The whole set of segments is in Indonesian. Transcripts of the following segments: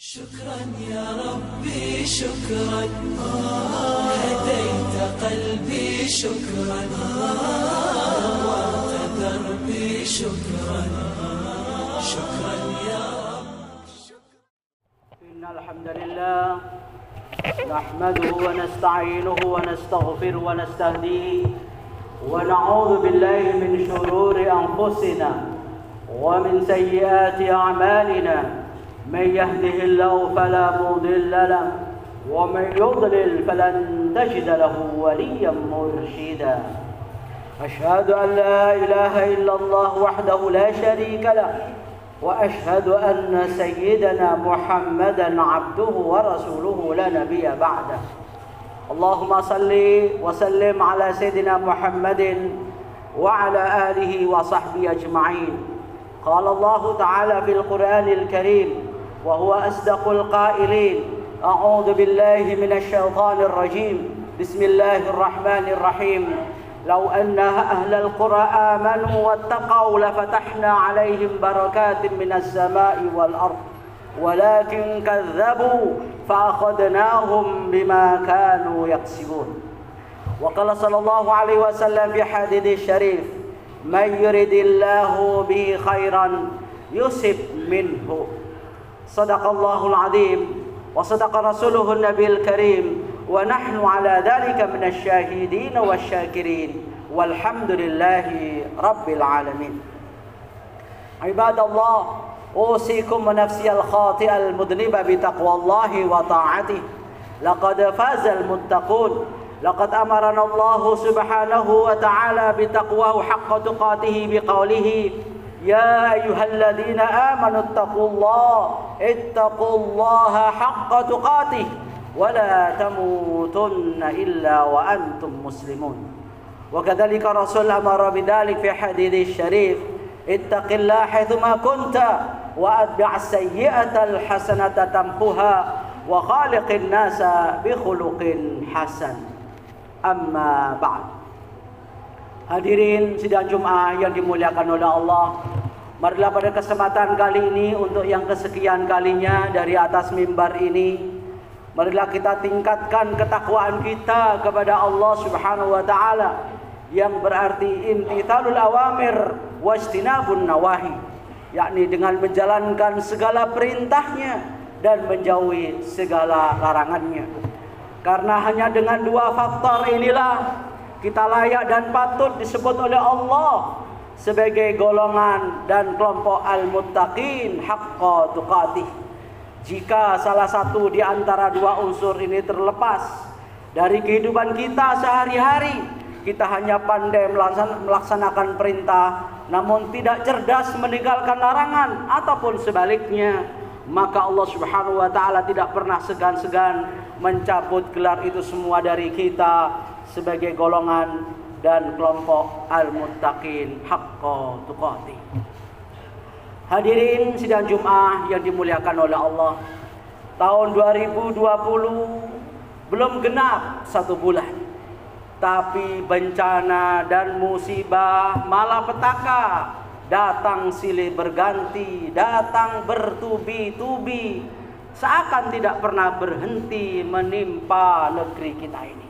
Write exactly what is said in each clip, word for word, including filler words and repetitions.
شكرا يا ربي شكرا هديت قلبي شكرا نورت دربي شكرا شكرا يا رب. إن الحمد لله نحمده ونستعينه ونستغفره ونستهديه ونعوذ بالله من شرور أنفسنا ومن سيئات أعمالنا. من يهده الله فلا مضل له ومن يضلل فلن تجد له وليا مرشدا. أشهد أن لا إله إلا الله وحده لا شريك له وأشهد أن سيدنا محمدا عبده ورسوله لا نبي بعده. اللهم صل وسلم على سيدنا محمد وعلى آله وصحبه أجمعين. قال الله تعالى في القرآن الكريم وهو أصدق القائلين: أعوذ بالله من الشيطان الرجيم بسم الله الرحمن الرحيم لو أن أهل القرى آمنوا واتقوا لفتحنا عليهم بركات من السماء والأرض ولكن كذبوا فأخذناهم بما كانوا يكسبون. وقال صلى الله عليه وسلم في حديث الشريف: من يرد الله به خيرا يصب منه. صدق الله العظيم وصدق رسوله النبي الكريم ونحن على ذلك من الشاهدين والشاكرين والحمد لله رب العالمين. عباد الله، أوصيكم ونفسي الخاطئة المذنبة بتقوى الله وطاعته. لقد فاز المتقون. لقد أمرنا الله سبحانه وتعالى بتقواه حق تقاته بقوله: يا أيها الذين آمنوا اتقوا الله اتقوا الله حق تقاته ولا تموتن إلا وأنتم مسلمون. وكذلك الرسول أمر بذلك في حديث الشريف: اتق الله حيثما كنت وأتبع السيئة الحسنة تمحها وخالق الناس بخلق حسن. Amma ba'd. Hadirin sidang Jumat yang dimuliakan oleh Allah, marilah pada kesempatan kali ini untuk yang kesekian kalinya dari atas mimbar ini, marilah kita tingkatkan ketakwaan kita kepada Allah Subhanahu wa taala, yang berarti imtithalul awamir wajtinabun nawahi, yakni dengan menjalankan segala perintahnya dan menjauhi segala larangannya. Karena hanya dengan dua faktor inilah kita layak dan patut disebut oleh Allah sebagai golongan dan kelompok al-muttaqin haqqa tuqatih. Jika salah satu di antara dua unsur ini terlepas dari kehidupan kita sehari-hari, kita hanya pandai melaksanakan perintah namun tidak cerdas meninggalkan larangan ataupun sebaliknya, maka Allah Subhanahu wa taala tidak pernah segan-segan mencabut gelar itu semua dari kita sebagai golongan dan kelompok al-muttaqin haqqa tuqatih. Hadirin sidang Jumat yang dimuliakan oleh Allah, tahun dua ribu dua puluh belum genap satu bulan, tapi bencana dan musibah malapetaka datang silih berganti, datang bertubi-tubi, seakan tidak pernah berhenti menimpa negeri kita ini.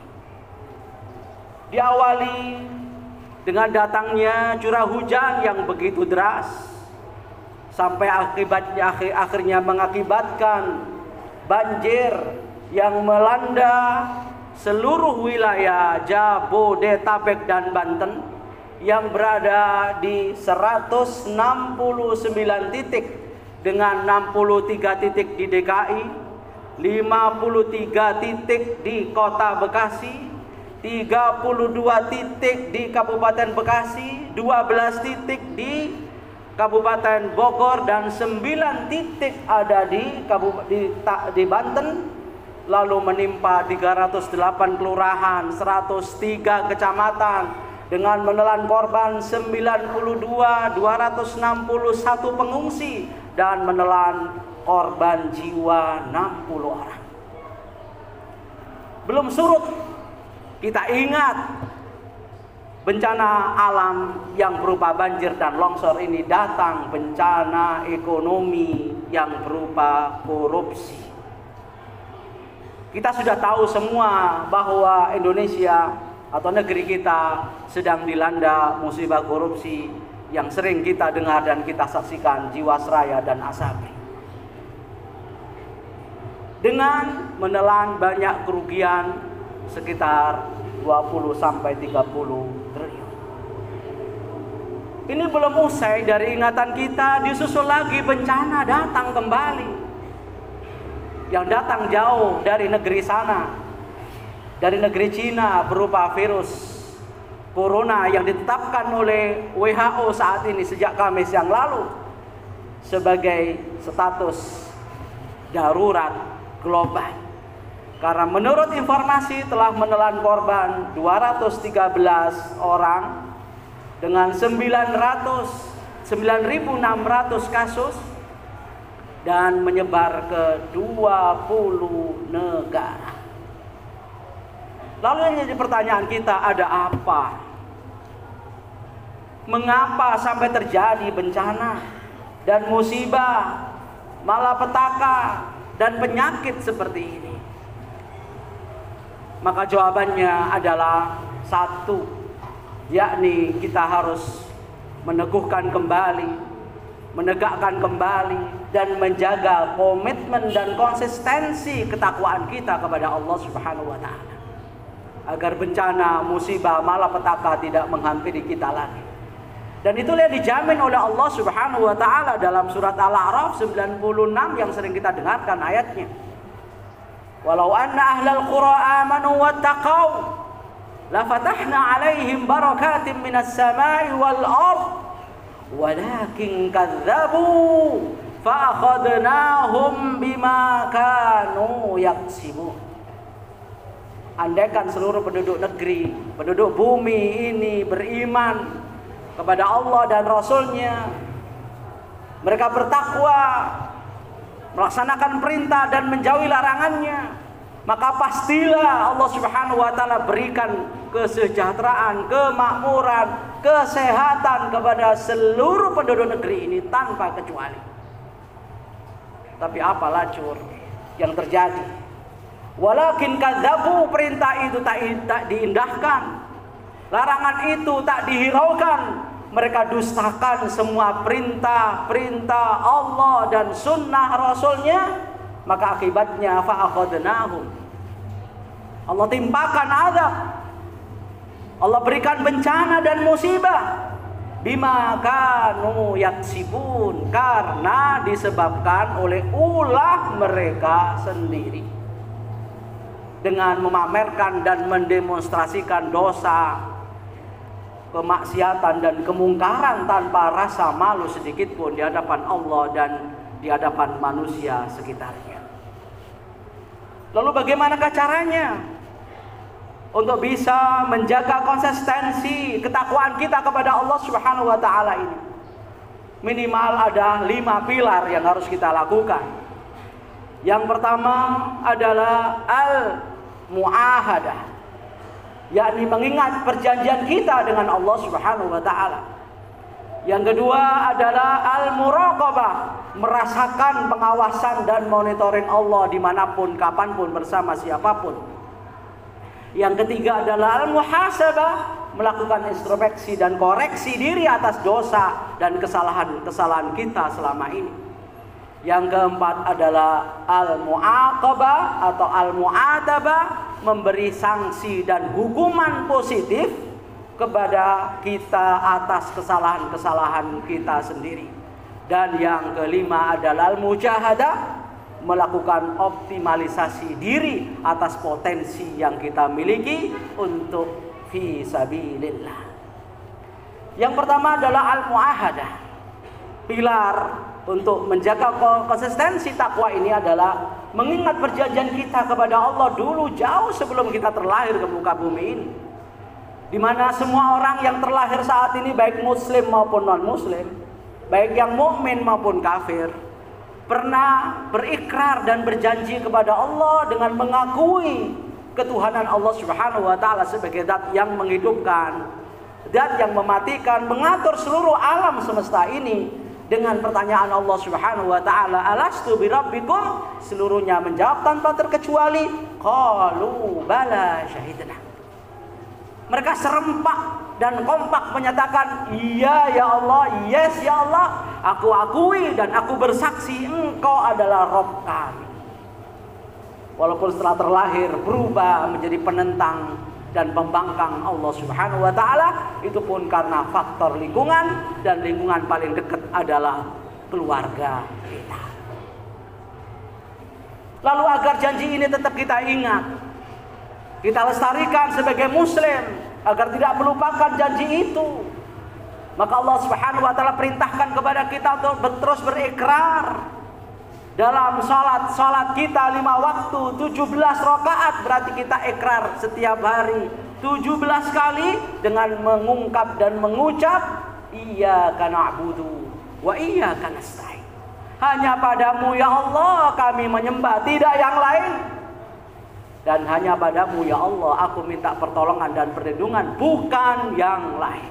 Diawali dengan datangnya curah hujan yang begitu deras, sampai akibatnya akhirnya mengakibatkan banjir yang melanda seluruh wilayah Jabodetabek dan Banten, yang berada di seratus enam puluh sembilan titik dengan enam puluh tiga titik di D K I, lima puluh tiga titik di Kota Bekasi, tiga puluh dua titik di Kabupaten Bekasi, dua belas titik di Kabupaten Bogor, dan sembilan titik ada di Kabupaten di, di Banten, lalu menimpa tiga ratus delapan kelurahan, seratus tiga kecamatan, dengan menelan korban sembilan puluh dua, dua ratus enam puluh satu pengungsi, dan menelan korban jiwa enam puluh orang. Belum surut, kita ingat bencana alam yang berupa banjir dan longsor ini datang, bencana ekonomi yang berupa korupsi. Kita sudah tahu semua bahwa Indonesia atau negeri kita sedang dilanda musibah korupsi yang sering kita dengar dan kita saksikan, Jiwasraya dan Asabri. Dengan menelan banyak kerugian sekitar dua puluh sampai tiga puluh triliun. Ini belum usai dari ingatan kita, disusul lagi bencana datang kembali. Yang datang jauh dari negeri sana, dari negeri Cina, berupa virus Corona yang ditetapkan oleh W H O saat ini sejak Kamis yang lalu sebagai status darurat global. Karena menurut informasi telah menelan korban dua ratus tiga belas orang dengan sembilan ribu enam ratus kasus dan menyebar ke dua puluh negara. Lalu yang jadi pertanyaan kita, ada apa? Mengapa sampai terjadi bencana dan musibah, malapetaka dan penyakit seperti ini? Maka jawabannya adalah satu, yakni kita harus meneguhkan kembali, menegakkan kembali dan menjaga komitmen dan konsistensi ketakwaan kita kepada Allah Subhanahu wa taala, agar bencana, musibah, malapetaka tidak menghampiri kita lagi. Dan itulah yang dijamin oleh Allah Subhanahu wa taala dalam surat Al-A'raf sembilan puluh enam yang sering kita dengarkan ayatnya. Walau anna ahlal qura amanu wattaqau la fatahna 'alaihim barakatin minas sama'i wal ard walakin kadzdzabu fa akhadnahum bima kanu yaksibun. Andaikan seluruh penduduk negeri, penduduk bumi ini beriman kepada Allah dan Rasul-Nya, mereka bertakwa, melaksanakan perintah dan menjauhi larangannya, maka pastilah Allah Subhanahu wa taala berikan kesejahteraan, kemakmuran, kesehatan kepada seluruh penduduk negeri ini tanpa kecuali. Tapi apa lacur yang terjadi? Walakin kadzabu, perintah itu tak, tak diindahkan, larangan itu tak dihiraukan. Mereka dustakan semua perintah-perintah Allah dan sunnah Rasulnya. Maka akibatnya fa'akhadnahum, Allah timpakan azab, Allah berikan bencana dan musibah, bima kanu yaksibun, karena disebabkan oleh ulah mereka sendiri, dengan memamerkan dan mendemonstrasikan dosa, kemaksiatan dan kemungkaran tanpa rasa malu sedikit pun di hadapan Allah dan di hadapan manusia sekitarnya. Lalu bagaimanakah caranya untuk bisa menjaga konsistensi ketakwaan kita kepada Allah Subhanahu wa taala ini? Minimal ada lima pilar yang harus kita lakukan. Yang pertama adalah al-mu'ahadah, yakni mengingat perjanjian kita dengan Allah Subhanahu wa taala. Yang kedua adalah al-muraqabah, merasakan pengawasan dan monitoring Allah dimanapun, kapanpun, bersama siapapun. Yang ketiga adalah al-muhasabah, melakukan introspeksi dan koreksi diri atas dosa dan kesalahan-kesalahan kita selama ini. Yang keempat adalah al-mu'aqabah atau al-mu'atabah, memberi sanksi dan hukuman positif kepada kita atas kesalahan-kesalahan kita sendiri. Dan yang kelima adalah al-mujahadah, melakukan optimalisasi diri atas potensi yang kita miliki untuk fi sabilillah. Yang pertama adalah al-muahadah. Pilar untuk menjaga konsistensi takwa ini adalah mengingat perjanjian kita kepada Allah dulu jauh sebelum kita terlahir ke muka bumi ini, di mana semua orang yang terlahir saat ini, baik muslim maupun non muslim, baik yang mukmin maupun kafir, pernah berikrar dan berjanji kepada Allah dengan mengakui ketuhanan Allah Subhanahu wa taala sebagai zat yang menghidupkan, zat yang mematikan, mengatur seluruh alam semesta ini dengan pertanyaan Allah Subhanahu wa taala, alastu birabbikum, seluruhnya menjawab tanpa terkecuali, qalu bala syahidna. Mereka serempak dan kompak menyatakan, iya ya Allah, yes ya Allah, aku akui dan aku bersaksi engkau adalah Rabb kami. Walaupun setelah terlahir berubah menjadi penentang dan pembangkang Allah Subhanahu wa taala, itu pun karena faktor lingkungan, dan lingkungan paling dekat adalah keluarga kita. Lalu agar janji ini tetap kita ingat, kita lestarikan sebagai muslim agar tidak melupakan janji itu, maka Allah Subhanahu wa taala perintahkan kepada kita untuk terus berikrar dalam salat-salat kita lima waktu tujuh belas rakaat. Berarti kita ikrar setiap hari tujuh belas kali dengan mengungkap dan mengucap, iyyaka na'budu wa iyyaka nasta'in. Hanya padamu ya Allah kami menyembah, tidak yang lain. Dan hanya padamu ya Allah aku minta pertolongan dan perlindungan, bukan yang lain.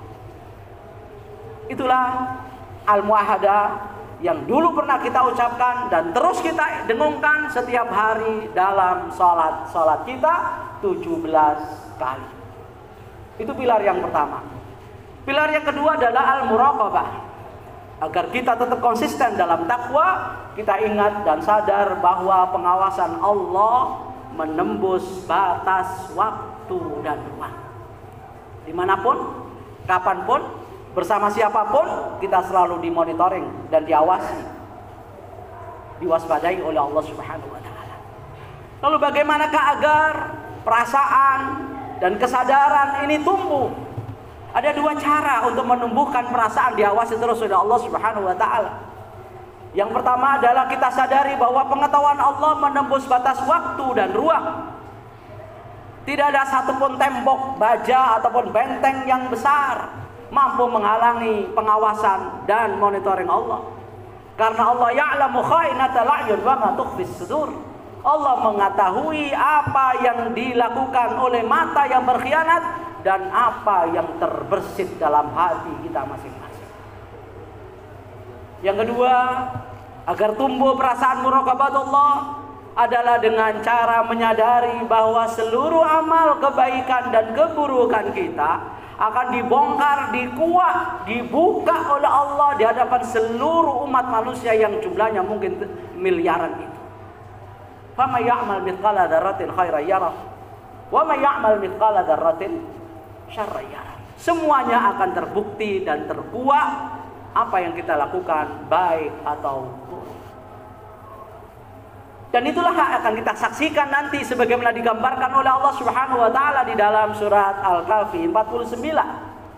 Itulah al-muahadah yang dulu pernah kita ucapkan dan terus kita dengungkan setiap hari dalam salat-salat kita tujuh belas kali. Itu pilar yang pertama. Pilar yang kedua adalah al-muraqabah. Agar kita tetap konsisten dalam takwa, kita ingat dan sadar bahwa pengawasan Allah menembus batas waktu dan ruang. Dimanapun, kapanpun, bersama siapapun, kita selalu dimonitoring dan diawasi, diwaspadai oleh Allah Subhanahu wa taala. Lalu bagaimanakah agar perasaan dan kesadaran ini tumbuh? Ada dua cara untuk menumbuhkan perasaan diawasi terus oleh Allah Subhanahu wa taala. Yang pertama adalah kita sadari bahwa pengetahuan Allah menembus batas waktu dan ruang. Tidak ada satupun tembok, baja ataupun benteng yang besar mampu menghalangi pengawasan dan monitoring Allah. Karena Allah ya'lamu kha'inatal a'yun wa ma tukhfis sudur. Allah mengetahui apa yang dilakukan oleh mata yang berkhianat dan apa yang terbersit dalam hati kita masing-masing. Yang kedua, agar tumbuh perasaan muraqabatullah adalah dengan cara menyadari bahwa seluruh amal kebaikan dan keburukan kita akan dibongkar, dikuak, dibuka oleh Allah di hadapan seluruh umat manusia yang jumlahnya mungkin miliaran itu. Faman ya'mal mithqala dzarratin khairan yarah wa man ya'mal mithqala dzarratin syarran yarah. Semuanya akan terbukti dan terkuak apa yang kita lakukan, baik atau buruk. Dan itulah yang akan kita saksikan nanti sebagaimana digambarkan oleh Allah Subhanahu wa taala di dalam surat Al-Kahfi empat puluh sembilan.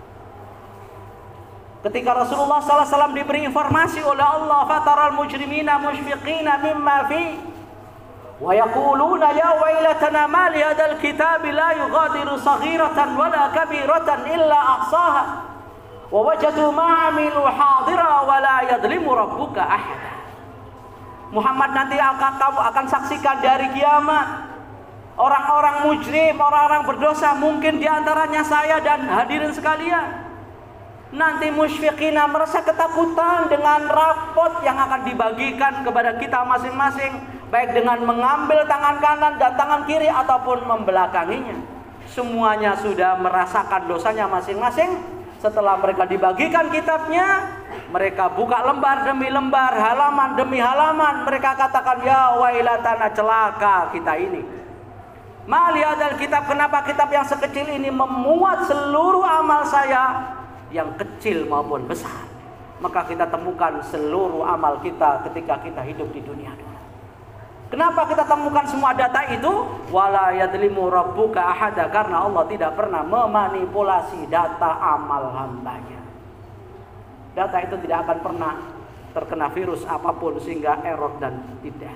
Ketika Rasulullah sallallahu alaihi wasallam diberi informasi oleh Allah, fataral mujrimina mushfiqina mimma fi wa yaquluna ya wailatana ma li hadzal kitabi la yughadiru saghiratan wala kabiratan illa ahsaha wa wajadu ma 'amilu hadira wa la yadhlimu rabbuka ahada. Muhammad, nanti akan kamu akan saksikan dari kiamat orang-orang mujrim, orang-orang berdosa, mungkin diantaranya saya dan hadirin sekalian. Nanti musyfiqina, merasa ketakutan dengan rapot yang akan dibagikan kepada kita masing-masing, baik dengan mengambil tangan kanan dan tangan kiri ataupun membelakanginya. Semuanya sudah merasakan dosanya masing-masing. Setelah mereka dibagikan kitabnya, mereka buka lembar demi lembar, halaman demi halaman. Mereka katakan, ya wailatana, celaka kita ini. Ma li hadzal kitab, kenapa kitab yang sekecil ini memuat seluruh amal saya, yang kecil maupun besar. Maka kita temukan seluruh amal kita ketika kita hidup di dunia dulu. Kenapa kita temukan semua data itu? Wala yadlimu rabbuka ahada, karena Allah tidak pernah memanipulasi data amal hambanya. Data itu tidak akan pernah terkena virus apapun sehingga error dan tidak.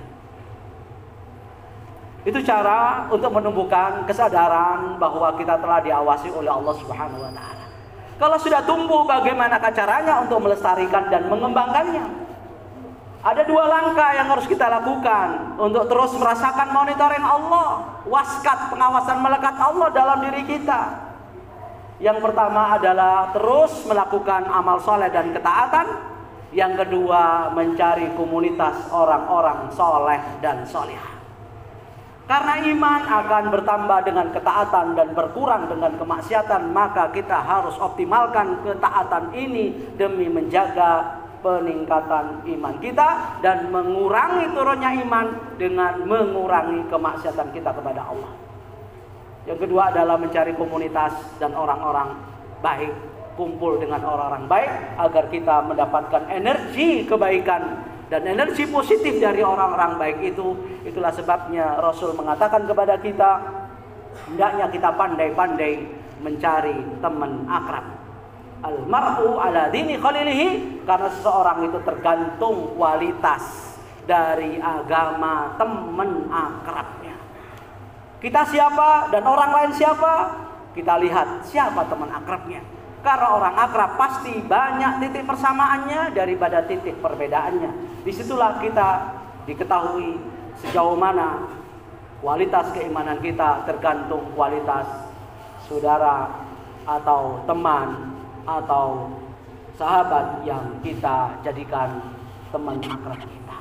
Itu cara untuk menumbuhkan kesadaran bahwa kita telah diawasi oleh Allah Subhanahu wa taala. Kalau sudah tumbuh, bagaimana caranya untuk melestarikan dan mengembangkannya? Ada dua langkah yang harus kita lakukan untuk terus merasakan monitoring Allah, waskat, pengawasan melekat Allah dalam diri kita. Yang pertama adalah terus melakukan amal soleh dan ketaatan. Yang kedua, mencari komunitas orang-orang soleh dan solihah. Karena iman akan bertambah dengan ketaatan dan berkurang dengan kemaksiatan, maka kita harus optimalkan ketaatan ini demi menjaga peningkatan iman kita dan mengurangi turunnya iman dengan mengurangi kemaksiatan kita kepada Allah. Yang kedua adalah mencari komunitas dan orang-orang baik, kumpul dengan orang-orang baik agar kita mendapatkan energi kebaikan dan energi positif dari orang-orang baik itu. Itulah sebabnya Rasul mengatakan kepada kita, hendaknya kita pandai-pandai mencari teman akrab. Al-mar'u ala dini khalilihi, karena seseorang itu tergantung kualitas dari agama teman akrabnya. Kita siapa dan orang lain siapa? Kita lihat siapa teman akrabnya. Karena orang akrab pasti banyak titik persamaannya daripada titik perbedaannya. Disitulah kita diketahui sejauh mana kualitas keimanan kita tergantung kualitas saudara atau teman atau sahabat yang kita jadikan teman akrab kita.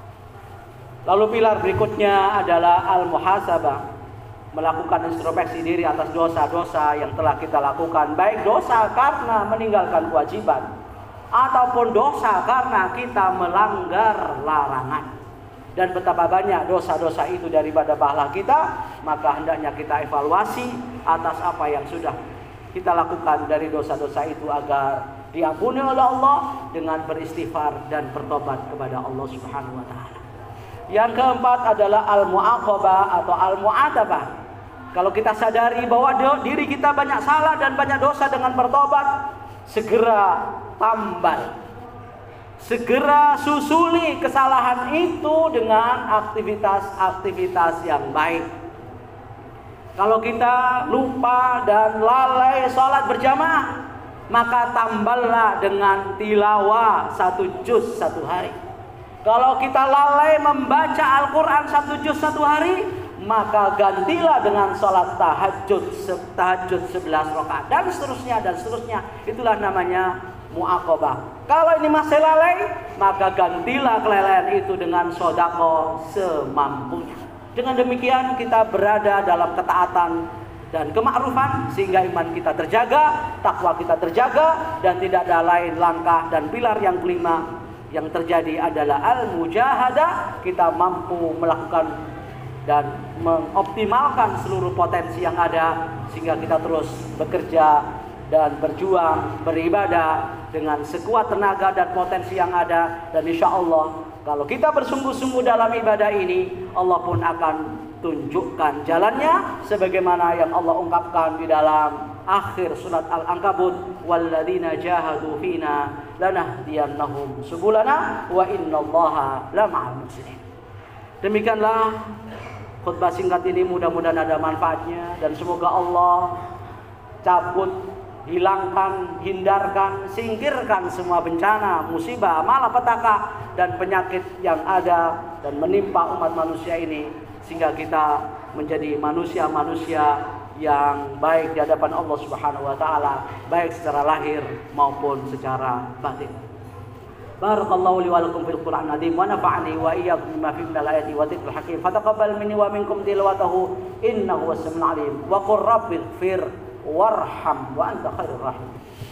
Lalu pilar berikutnya adalah al-muhasabah, melakukan introspeksi diri atas dosa-dosa yang telah kita lakukan, baik dosa karena meninggalkan kewajiban ataupun dosa karena kita melanggar larangan. Dan betapa banyak dosa-dosa itu daripada pahala kita, maka hendaknya kita evaluasi atas apa yang sudah kita lakukan dari dosa-dosa itu agar diampuni oleh Allah dengan beristighfar dan bertobat kepada Allah Subhanahu wa taala. Yang keempat adalah al-mu'aqabah atau al-mu'atabah. Kalau kita sadari bahwa diri kita banyak salah dan banyak dosa, dengan bertobat segera tambal, segera susuli kesalahan itu dengan aktivitas-aktivitas yang baik. Kalau kita lupa dan lalai sholat berjamaah, maka tamballah dengan tilawah satu juz satu hari. Kalau kita lalai membaca Al-Quran satu juz satu hari, maka gantilah dengan sholat tahajud tahajud sebelas rakaat dan seterusnya dan seterusnya. Itulah namanya mu'aqabah. Kalau ini masih lalai, maka gantilah kelalaian itu dengan sodako semampunya. Dengan demikian kita berada dalam ketaatan dan kemakrufan sehingga iman kita terjaga, takwa kita terjaga, dan tidak ada lain langkah. Dan pilar yang kelima yang terjadi adalah al-mujahadah. Kita mampu melakukan dan mengoptimalkan seluruh potensi yang ada sehingga kita terus bekerja dan berjuang, beribadah dengan sekuat tenaga dan potensi yang ada. Dan insya Allah kalau kita bersungguh-sungguh dalam ibadah ini, Allah pun akan tunjukkan jalannya sebagaimana yang Allah ungkapkan di dalam akhir surat Al-Ankabut, walladzina jahadu fina lanahdiyannahum subulana wa innallaha lama'al muhsinin. Demikianlah khutbah singkat ini, mudah-mudahan ada manfaatnya dan semoga Allah cabut, hilangkan, hindarkan, singkirkan semua bencana, musibah, malapetaka dan penyakit yang ada dan menimpa umat manusia ini, sehingga kita menjadi manusia-manusia yang baik di hadapan Allah Subhanahu wa taala, baik secara lahir maupun secara batin. Barakallahu li wa lakum fil Qur'an azim wa nafa'ani wa iyyakum bima fihi minal ayati wa dzikril hakim. Fataqabbal minni wa minkum tilawatahu innahu was-sami'ul 'alim. Wa qur rabbighfir warham wa anta khairur rahim.